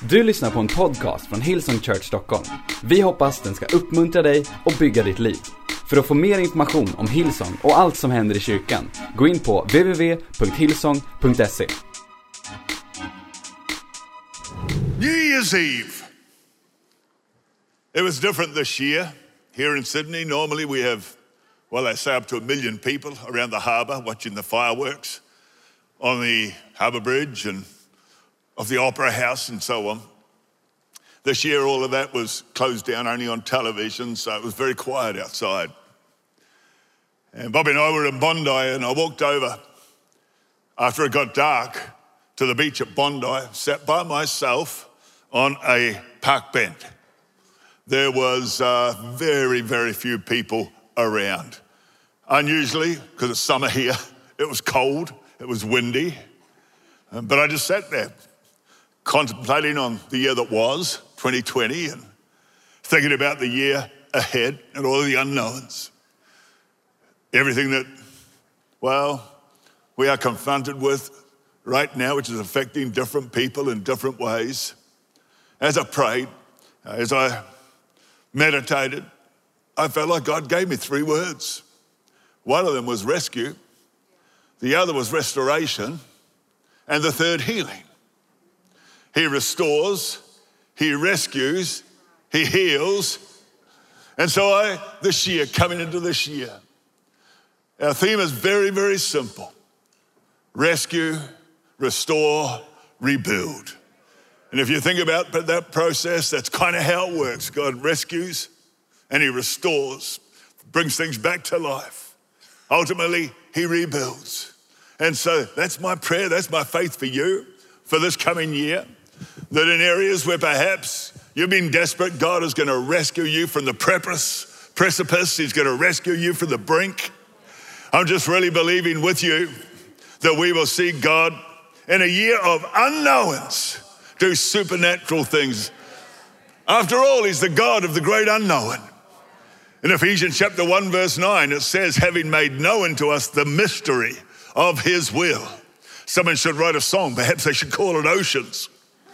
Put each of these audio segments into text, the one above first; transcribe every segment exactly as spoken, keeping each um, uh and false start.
Du lyssnar på en podcast från Hillsong Church Stockholm. Vi hoppas den ska uppmuntra dig och bygga ditt liv. För att få mer information om Hillsong och allt som händer i kyrkan, gå in på w w w punkt hillsong punkt se. New Year's Eve. It was different this year. Here in Sydney, normally we have, well, they say up to a million people around the harbour watching the fireworks on the harbour bridge and of the Opera House and so on. This year, all of that was closed down only on television, so it was very quiet outside. And Bobby and I were in Bondi, and I walked over after it got dark to the beach at Bondi, sat by myself on a park bench. There was uh, very, very few people around. Unusually, because it's summer here, it was cold, it was windy, um, but I just sat there, contemplating on the year that was, twenty twenty, and thinking about the year ahead and all the unknowns. Everything that, well, we are confronted with right now, which is affecting different people in different ways. As I prayed, as I meditated, I felt like God gave me three words. One of them was rescue, the other was restoration, and the third, healing. He restores, he rescues, he heals. And so I, this year, coming into this year, our theme is very, very simple. Rescue, restore, rebuild. And if you think about that process, that's kind of how it works. God rescues and he restores, brings things back to life. Ultimately, he rebuilds. And so that's my prayer, that's my faith for you for this coming year. That in areas where perhaps you've been desperate, God is going to rescue you from the precipice. precipice. He's going to rescue you from the brink. I'm just really believing with you that we will see God in a year of unknowns do supernatural things. After all, he's the God of the great unknown. In Ephesians chapter one, verse nine, it says, having made known to us the mystery of his will. Someone should write a song. Perhaps they should call it Oceans.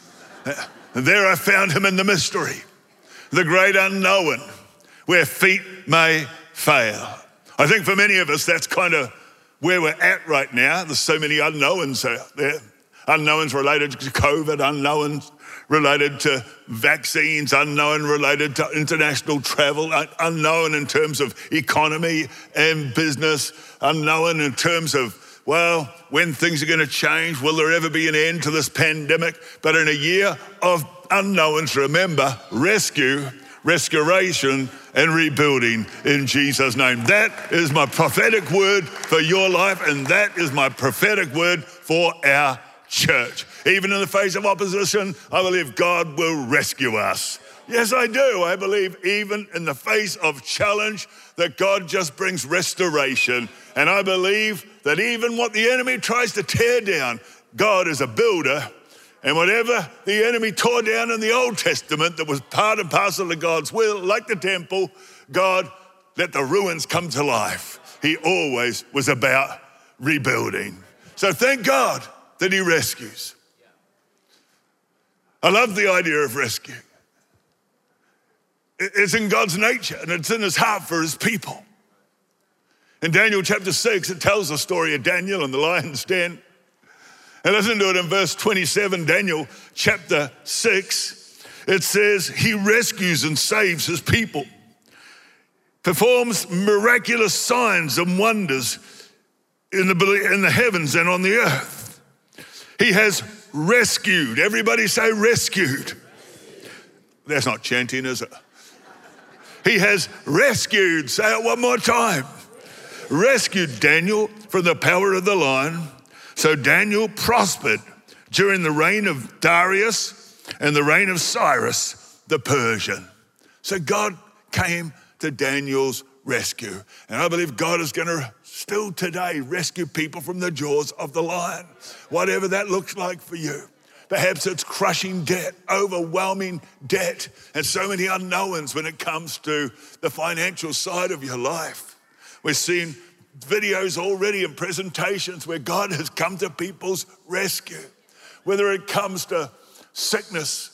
And there I found him in the mystery, the great unknown, where feet may fail. I think for many of us, that's kind of where we're at right now. There's so many unknowns out there. Unknowns related to COVID, unknowns related to vaccines, unknown related to international travel, unknown in terms of economy and business, unknown in terms of, well, when things are going to change, will there ever be an end to this pandemic? But in a year of unknowns, remember, rescue, restoration, and rebuilding in Jesus' name. That is my prophetic word for your life, and that is my prophetic word for our church. Even in the face of opposition, I believe God will rescue us. Yes, I do. I believe even in the face of challenge that God just brings restoration. And I believe that even what the enemy tries to tear down, God is a builder. And whatever the enemy tore down in the Old Testament that was part and parcel of God's will, like the temple, God let the ruins come to life. He always was about rebuilding. So thank God that he rescues. I love the idea of rescue. It's in God's nature and it's in his heart for his people. In Daniel chapter six, it tells the story of Daniel and the lion's den. And listen to it in verse twenty-seven, Daniel chapter six. It says, he rescues and saves his people, performs miraculous signs and wonders in the, in the heavens and on the earth. He has rescued. Everybody say rescued. That's not chanting, is it? He has rescued, say it one more time, rescued Daniel from the power of the lion. So Daniel prospered during the reign of Darius and the reign of Cyrus the Persian. So God came to Daniel's rescue. And I believe God is going to still today rescue people from the jaws of the lion, whatever that looks like for you. Perhaps it's crushing debt, overwhelming debt, and so many unknowns when it comes to the financial side of your life. We're seeing videos already and presentations where God has come to people's rescue. Whether it comes to sickness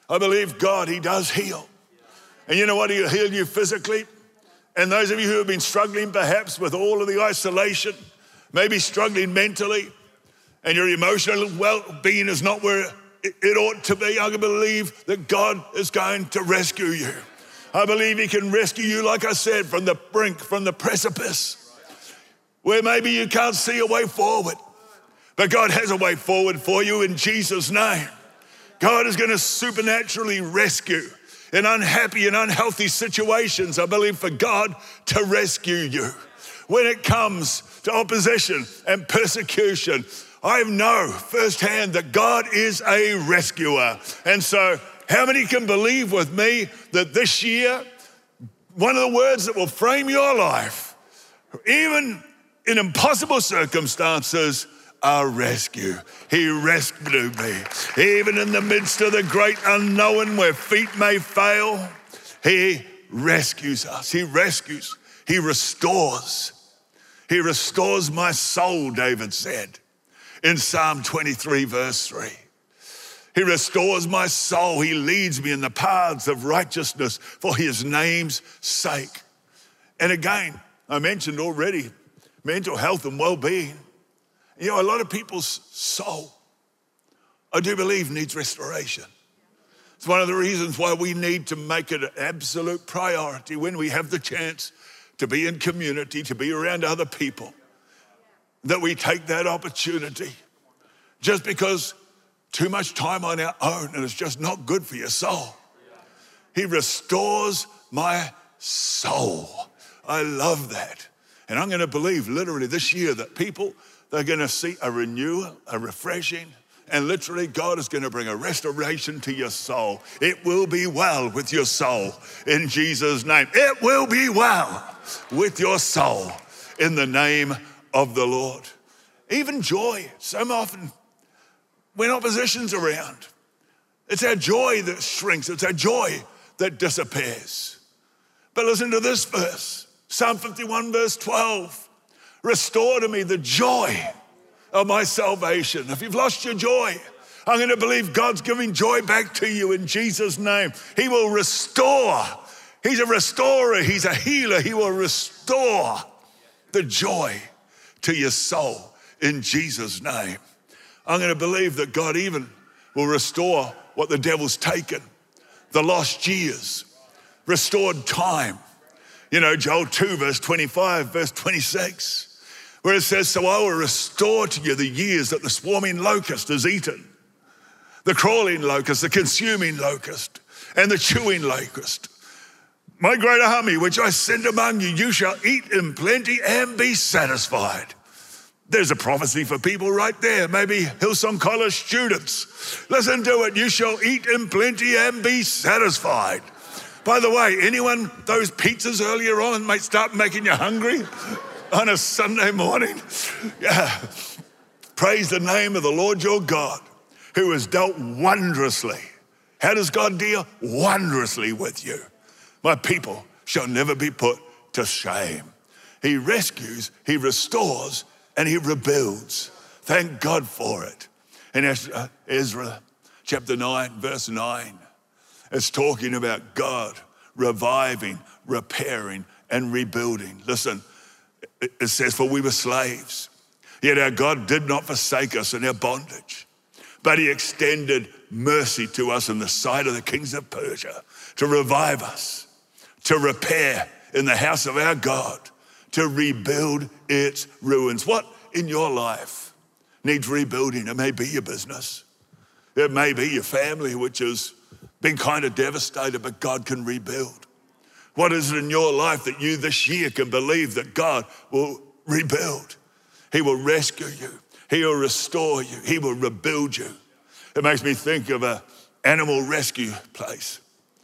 I believe God, he does heal. And you know what? He'll heal you physically. And those of you who have been struggling perhaps with all of the isolation, maybe struggling mentally, and your emotional well-being is not where it ought to be, I believe that God is going to rescue you. I believe he can rescue you, like I said, from the brink, from the precipice, where maybe you can't see a way forward. But God has a way forward for you in Jesus' name. God is going to supernaturally rescue in unhappy and unhealthy situations. I believe for God to rescue you. When it comes to opposition and persecution, I know firsthand that God is a rescuer. And so how many can believe with me that this year, one of the words that will frame your life, even in impossible circumstances, our rescue. He rescued me. Even in the midst of the great unknown where feet may fail, he rescues us. He rescues. He restores. He restores my soul, David said in Psalm twenty-three, verse three. He restores my soul. He leads me in the paths of righteousness for his name's sake. And again, I mentioned already, mental health and well-being. You know, a lot of people's soul, I do believe, needs restoration. It's one of the reasons why we need to make it an absolute priority when we have the chance to be in community, to be around other people, that we take that opportunity. Just because too much time on our own and it's just not good for your soul. He restores my soul. I love that. And I'm going to believe literally this year that people, they're going to see a renewal, a refreshing, and literally God is going to bring a restoration to your soul. It will be well with your soul in Jesus' name. It will be well with your soul in the name of the Lord. Even joy, so often when opposition's around, it's our joy that shrinks. It's our joy that disappears. But listen to this verse, Psalm fifty-one, verse twelve. Restore to me the joy of my salvation. If you've lost your joy, I'm going to believe God's giving joy back to you in Jesus' name. He will restore. He's a restorer. He's a healer. He will restore the joy to your soul in Jesus' name. I'm going to believe that God even will restore what the devil's taken, the lost years, restored time. You know, Joel two, verse twenty-five, verse twenty-six. Where it says, so I will restore to you the years that the swarming locust has eaten, the crawling locust, the consuming locust, and the chewing locust. My great army, which I send among you, you shall eat in plenty and be satisfied. There's a prophecy for people right there, maybe Hillsong College students. Listen to it, you shall eat in plenty and be satisfied. By the way, anyone, those pizzas earlier on might start making you hungry? On a Sunday morning, yeah. Praise the name of the Lord your God, who has dealt wondrously. How does God deal? Wondrously with you. My people shall never be put to shame. He rescues, he restores, and he rebuilds. Thank God for it. In Ezra chapter nine, verse nine, it's talking about God reviving, repairing, and rebuilding. Listen, it says, for we were slaves, yet our God did not forsake us in our bondage, but he extended mercy to us in the sight of the kings of Persia to revive us, to repair in the house of our God, to rebuild its ruins. What in your life needs rebuilding? It may be your business. It may be your family, which has been kind of devastated, but God can rebuild. What is it in your life that you this year can believe that God will rebuild? He will rescue you. He will restore you. He will rebuild you. It makes me think of an animal rescue place.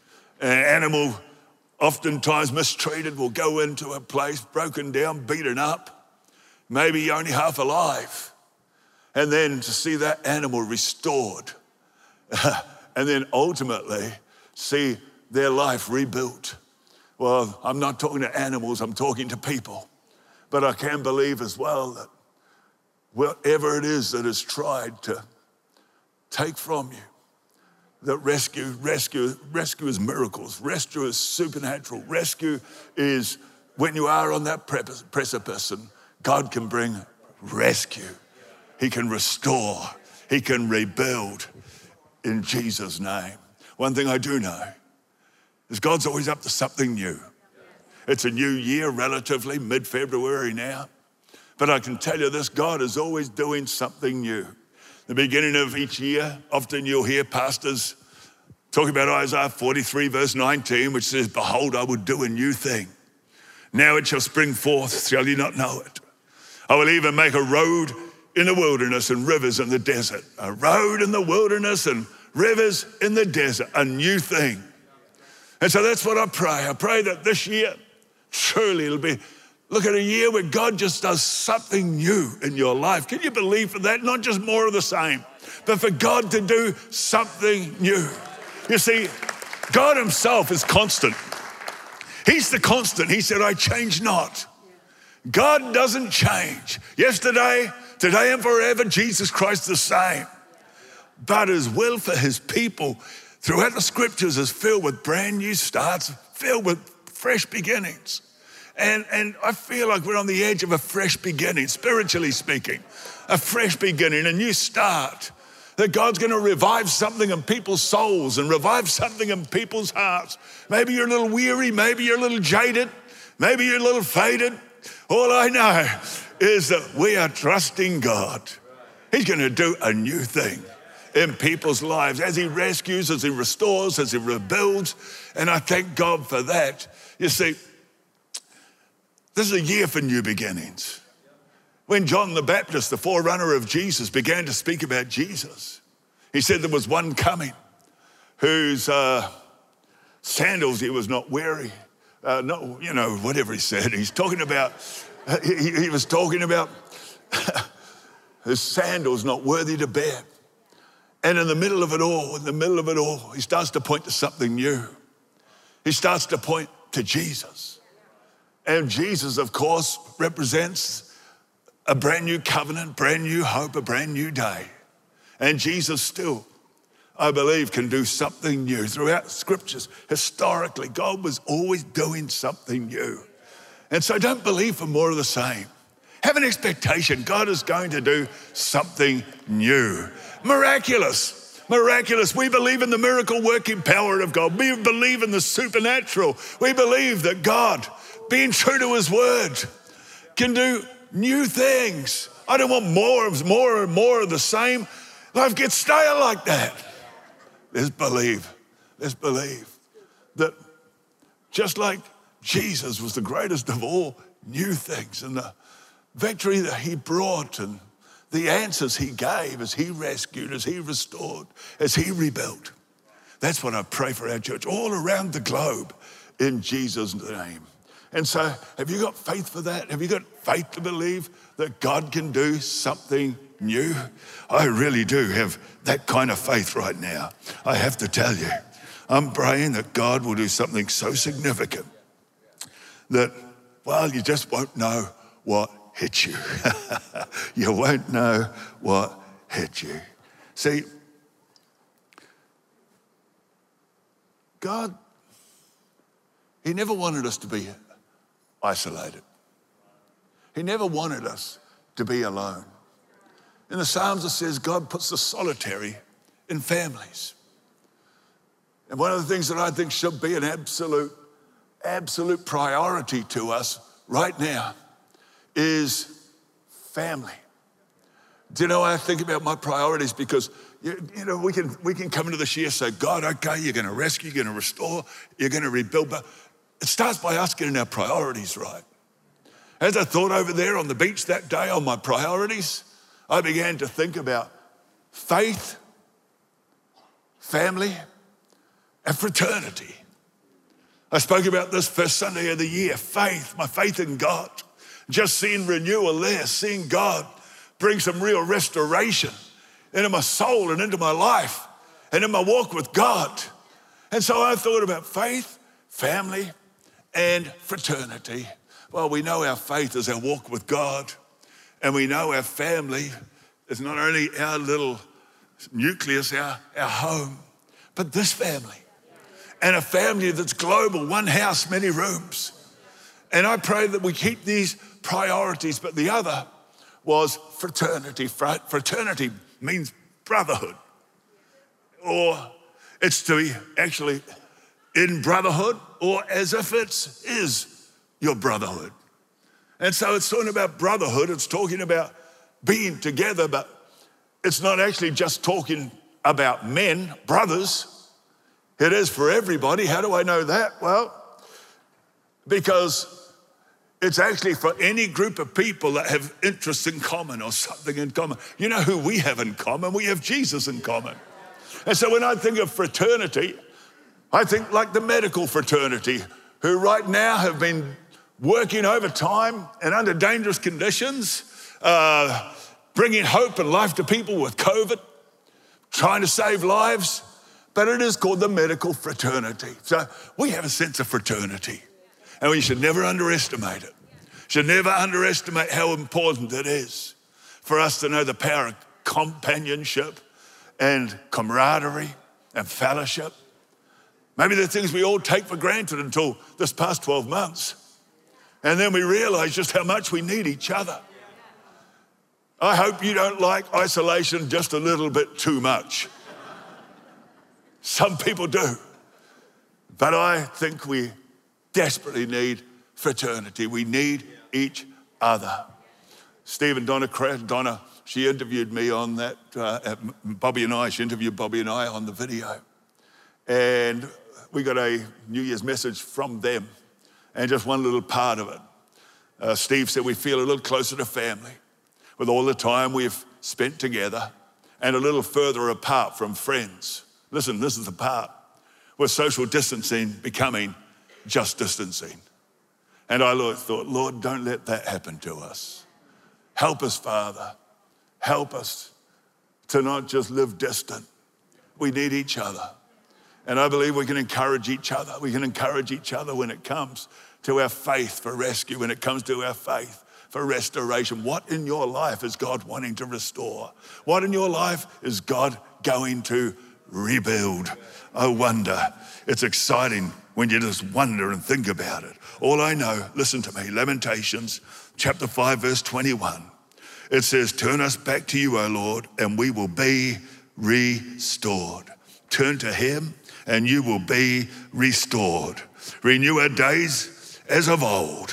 An animal oftentimes mistreated will go into a place, broken down, beaten up, maybe only half alive. And then to see that animal restored and then ultimately see their life rebuilt. Well, I'm not talking to animals, I'm talking to people. But I can believe as well that whatever it is that is tried to take from you, that rescue, rescue, rescue is miracles. Rescue is supernatural. Rescue is when you are on that precipice and God can bring rescue. He can restore. He can rebuild in Jesus' name. One thing I do know is God's always up to something new. It's a new year, relatively, mid-February now. But I can tell you this, God is always doing something new. The beginning of each year, often you'll hear pastors talking about Isaiah forty-three, verse nineteen, which says, behold, I will do a new thing. Now it shall spring forth, shall you not know it? I will even make a road in the wilderness and rivers in the desert. A road in the wilderness and rivers in the desert, a new thing. And so that's what I pray. I pray that this year, truly it'll be, look at a year where God just does something new in your life. Can you believe for that? Not just more of the same, but for God to do something new. You see, God himself is constant. He's the constant. He said, I change not. God doesn't change. Yesterday, today, and forever, Jesus Christ the same. But his will for his people throughout the scriptures is filled with brand new starts, filled with fresh beginnings. And, and I feel like we're on the edge of a fresh beginning, spiritually speaking, a fresh beginning, a new start. That God's going to revive something in people's souls and revive something in people's hearts. Maybe you're a little weary, maybe you're a little jaded, maybe you're a little faded. All I know is that we are trusting God. He's going to do a new thing in people's lives as he rescues, as he restores, as he rebuilds. And I thank God for that. You see, this is a year for new beginnings. When John the Baptist, the forerunner of Jesus, began to speak about Jesus, he said there was one coming whose uh, sandals he was not wearing. Uh, not, you know, whatever he said. He's talking about, he, he was talking about his sandals not worthy to bear. And in the middle of it all, in the middle of it all, he starts to point to something new. He starts to point to Jesus. And Jesus, of course, represents a brand new covenant, brand new hope, a brand new day. And Jesus still, I believe, can do something new. Throughout scriptures, historically, God was always doing something new. And so don't believe for more of the same. Have an expectation. God is going to do something new. Miraculous, miraculous. We believe in the miracle working power of God. We believe in the supernatural. We believe that God, being true to his word, can do new things. I don't want more of more and more of the same. Life gets stale like that. Let's believe, let's believe that just like Jesus was the greatest of all new things and the victory that he brought and the answers he gave as he rescued, as he restored, as he rebuilt. That's what I pray for our church all around the globe in Jesus' name. And so have you got faith for that? Have you got faith to believe that God can do something new? I really do have that kind of faith right now. I have to tell you, I'm praying that God will do something so significant that, well, you just won't know what hit you. You won't know what hit you. See, God, he never wanted us to be isolated. He never wanted us to be alone. In the Psalms it says God puts the solitary in families. And one of the things that I think should be an absolute, absolute priority to us right now is family. Do you know, I think about my priorities because, you, you know, we can, we can come into this year and say, God, okay, you're going to rescue, you're going to restore, you're going to rebuild, but it starts by us getting our priorities right. As I thought over there on the beach that day on my priorities, I began to think about faith, family, and fraternity. I spoke about this first Sunday of the year, faith, my faith in God. Just seeing renewal there, seeing God bring some real restoration into my soul and into my life and in my walk with God. And so I thought about faith, family, and fraternity. Well, we know our faith is our walk with God, and we know our family is not only our little nucleus, our, our home, but this family. And a family that's global, one house, many rooms. And I pray that we keep these priorities. But the other was fraternity. Fraternity means brotherhood. Or it's to be actually in brotherhood, or as if it is your brotherhood. And so it's talking about brotherhood. It's talking about being together, but it's not actually just talking about men, brothers. It is for everybody. How do I know that? Well, because it's actually for any group of people that have interests in common or something in common. You know who we have in common? We have Jesus in common. And so when I think of fraternity, I think like the medical fraternity, who right now have been working overtime and under dangerous conditions, uh, bringing hope and life to people with COVID, trying to save lives. But it is called the medical fraternity. So we have a sense of fraternity, and we should never underestimate it. Should never underestimate how important it is for us to know the power of companionship and camaraderie and fellowship. Maybe the things we all take for granted until this past twelve months. And then we realize just how much we need each other. I hope you don't like isolation just a little bit too much. Some people do. But I think we desperately need fraternity. We need each other. Steve and Donna, Donna, she interviewed me on that, uh, Bobby and I, she interviewed Bobby and I on the video. And we got a New Year's message from them, and just one little part of it. Uh, Steve said we feel a little closer to family with all the time we've spent together, and a little further apart from friends. Listen, this is the part where social distancing becoming just distancing. And I thought, Lord, don't let that happen to us. Help us, Father. Help us to not just live distant. We need each other. And I believe we can encourage each other. We can encourage each other when it comes to our faith for rescue, when it comes to our faith for restoration. What in your life is God wanting to restore? What in your life is God going to rebuild? I wonder. It's exciting when you just wonder and think about it. All I know, listen to me, Lamentations chapter five, verse twenty-one. It says, turn us back to you, O Lord, and we will be restored. Turn to him and you will be restored. Renew our days as of old.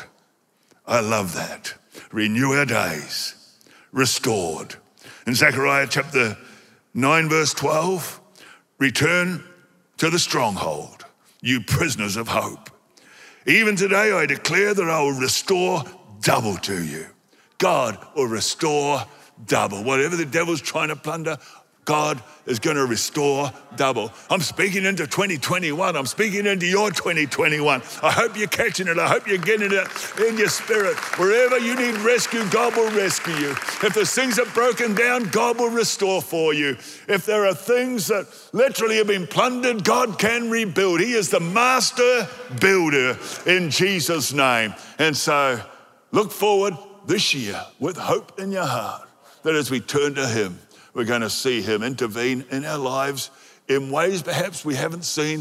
I love that. Renew our days, restored. In Zechariah chapter nine, verse twelve, return to the stronghold, you prisoners of hope. Even today I declare that I will restore double to you. God will restore double. Whatever the devil's trying to plunder, God is going to restore double. I'm speaking into twenty twenty-one. I'm speaking into your twenty twenty-one. I hope you're catching it. I hope you're getting it in your spirit. Wherever you need rescue, God will rescue you. If there's things that are broken down, God will restore for you. If there are things that literally have been plundered, God can rebuild. He is the master builder in Jesus' name. And so look forward this year with hope in your heart that as we turn to him, we're going to see him intervene in our lives in ways perhaps we haven't seen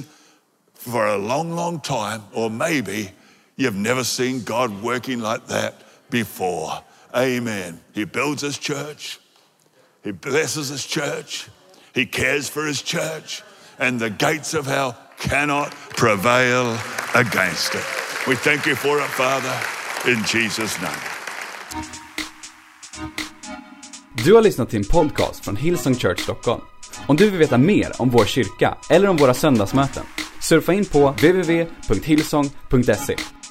for a long, long time, or maybe you've never seen God working like that before. Amen. He builds his church. He blesses his church. He cares for his church. And the gates of hell cannot prevail against it. We thank you for it, Father, in Jesus' name. Du har lyssnat till en podcast från Hillsong Church Stockholm. Om du vill veta mer om vår kyrka eller om våra söndagsmöten, surfa in på w w w punkt hillsong punkt se.